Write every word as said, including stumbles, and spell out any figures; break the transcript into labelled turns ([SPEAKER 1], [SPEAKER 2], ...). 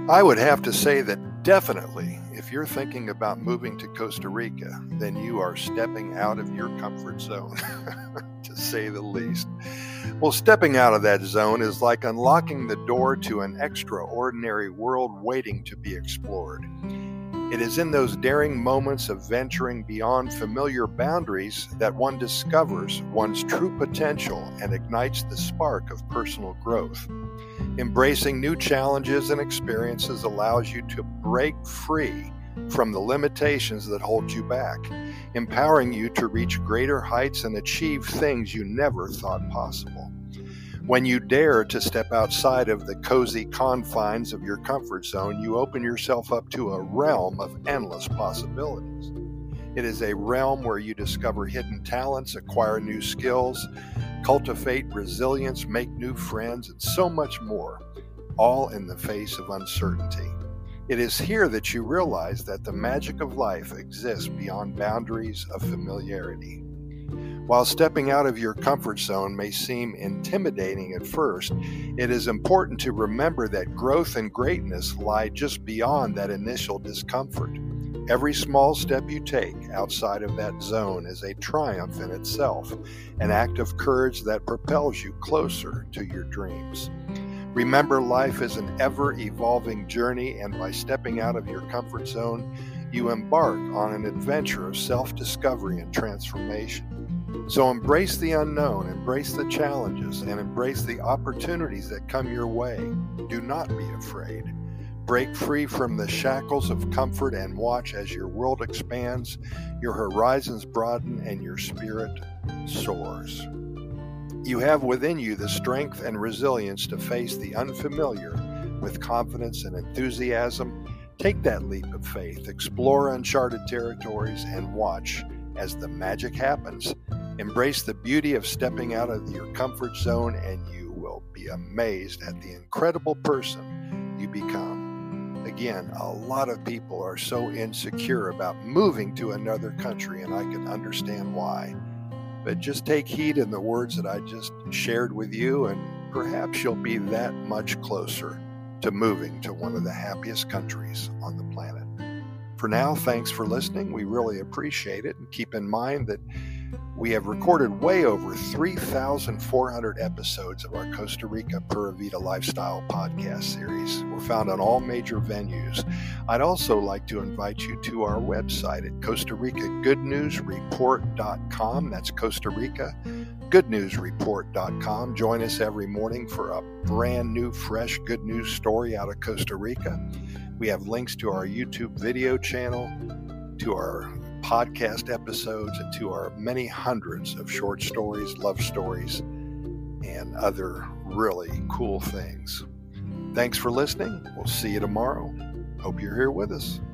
[SPEAKER 1] I would have to say that definitely, if you're thinking about moving to Costa Rica, then you are stepping out of your comfort zone, to say the least. Well, stepping out of that zone is like unlocking the door to an extraordinary world waiting to be explored. It is in those daring moments of venturing beyond familiar boundaries that one discovers one's true potential and ignites the spark of personal growth. Embracing new challenges and experiences allows you to break free from the limitations that hold you back, empowering you to reach greater heights and achieve things you never thought possible. When you dare to step outside of the cozy confines of your comfort zone, you open yourself up to a realm of endless possibilities. It is a realm where you discover hidden talents, acquire new skills, cultivate resilience, make new friends, and so much more, all in the face of uncertainty. It is here that you realize that the magic of life exists beyond boundaries of familiarity. While stepping out of your comfort zone may seem intimidating at first, it is important to remember that growth and greatness lie just beyond that initial discomfort. Every small step you take outside of that zone is a triumph in itself, an act of courage that propels you closer to your dreams. Remember, life is an ever-evolving journey, and by stepping out of your comfort zone, you embark on an adventure of self-discovery and transformation. So embrace the unknown, embrace the challenges, and embrace the opportunities that come your way. Do not be afraid. Break free from the shackles of comfort and watch as your world expands, your horizons broaden, and your spirit soars. You have within you the strength and resilience to face the unfamiliar with confidence and enthusiasm. Take that leap of faith, explore uncharted territories, and watch as the magic happens. Embrace the beauty of stepping out of your comfort zone, and you will be amazed at the incredible person you become. Again, a lot of people are so insecure about moving to another country, and I can understand why. But just take heed in the words that I just shared with you, and perhaps you'll be that much closer to moving to one of the happiest countries on the planet. For now, thanks for listening. We really appreciate it. And keep in mind that we have recorded way over three thousand four hundred episodes of our Costa Rica Pura Vida Lifestyle podcast series. We're found on all major venues. I'd also like to invite you to our website at Costa Rica Good News Report dot com. That's Costa Rica Good News Report dot com. Join us every morning for a brand new, fresh good news story out of Costa Rica. We have links to our YouTube video channel, to our podcast episodes, and to our many hundreds of short stories, love stories, and other really cool things. Thanks for listening. We'll see you tomorrow. Hope you're here with us.